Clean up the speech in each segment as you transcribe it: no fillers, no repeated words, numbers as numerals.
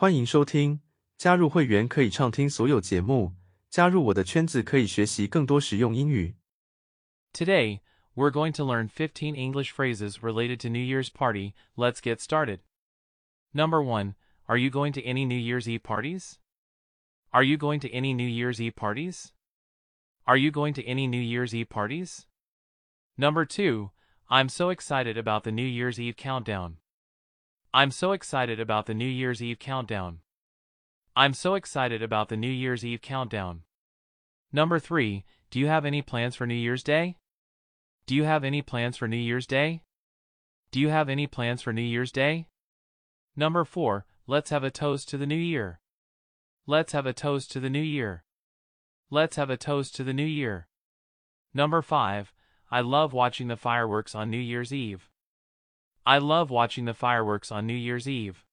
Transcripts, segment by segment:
欢迎收听，加入会员可以畅听所有节目，加入我的圈子可以学习更多实用英语。 Today, we're going to learn 15 English phrases related to New Year's party. Let's get started. Number 1. Are you going to any New Year's Eve parties? Are you going to any New Year's Eve parties? Are you going to any New Year's Eve parties? Number 2. I'm so excited about the New Year's Eve countdown. I'm so excited about the New Year's Eve countdown. I'm so excited about the New Year's Eve countdown. Number 3. Do you have any plans for New Year's Day? Do you have any plans for New Year's Day? Do you have any plans for New Year's Day? Number 4. Let's have a toast to the new year. Let's have a toast to the new year. Let's have a toast to the new year. Number 5. I love watching the fireworks on New Year's Eve. I love watching the fireworks on New Year's Eve.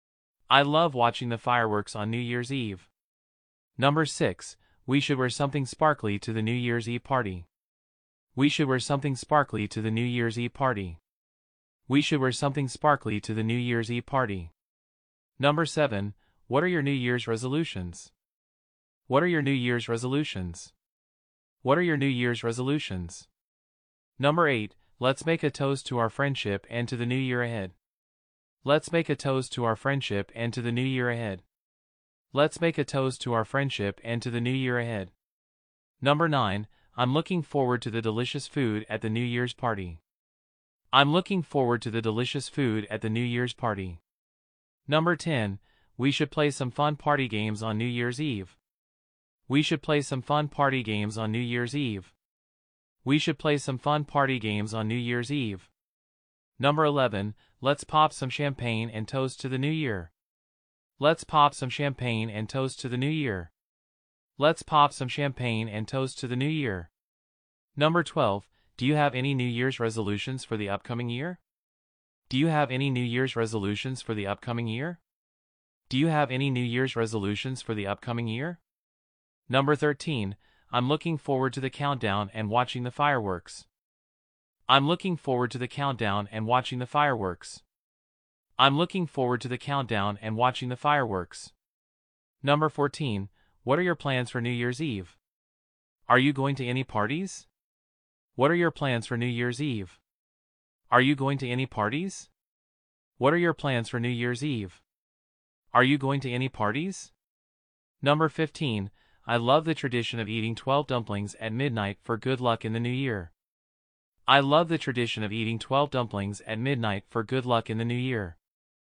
I love watching the fireworks on New Year's Eve. Number 6. We should wear something sparkly to the New Year's Eve party. We should wear something sparkly to the New Year's Eve party. We should wear something sparkly to the New Year's Eve party. Number 7. What are your New Year's resolutions? What are your New Year's resolutions? What are your New Year's resolutions? Number 8. Let's make a toast to our friendship and to the new year ahead. Let's make a toast to our friendship and to the new year ahead. Let's make a toast to our friendship and to the new year ahead. Number 9. I'm looking forward to the delicious food at the New Year's party. I'm looking forward to the delicious food at the New Year's party. Number 10. We should play some fun party games on New Year's Eve. We should play some fun party games on New Year's Eve. We should play some fun party games on New Year's Eve. Number 11. Let's pop some champagne and toast to the new year. Let's pop some champagne and toast to the new year. Let's pop some champagne and toast to the new year. Number 12. Do you have any New Year's resolutions for the upcoming year? Do you have any New Year's resolutions for the upcoming year? Do you have any New Year's resolutions for the upcoming year? Number 13. I'm looking forward to the countdown and watching the fireworks. I'm looking forward to the countdown and watching the fireworks. I'm looking forward to the countdown and watching the fireworks. Number 14. What are your plans for New Year's Eve? Are you going to any parties? What are your plans for New Year's Eve? Are you going to any parties? What are your plans for New Year's Eve? Are you going to any parties? Number 15. I love the tradition of eating 12 dumplings at midnight for good luck in the new year. I love the tradition of eating 12 dumplings at midnight for good luck in the new year.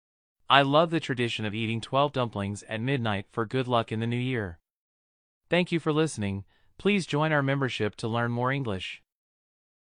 I love the tradition of eating 12 dumplings at midnight for good luck in the new year. Thank you for listening. Please join our membership to learn more English.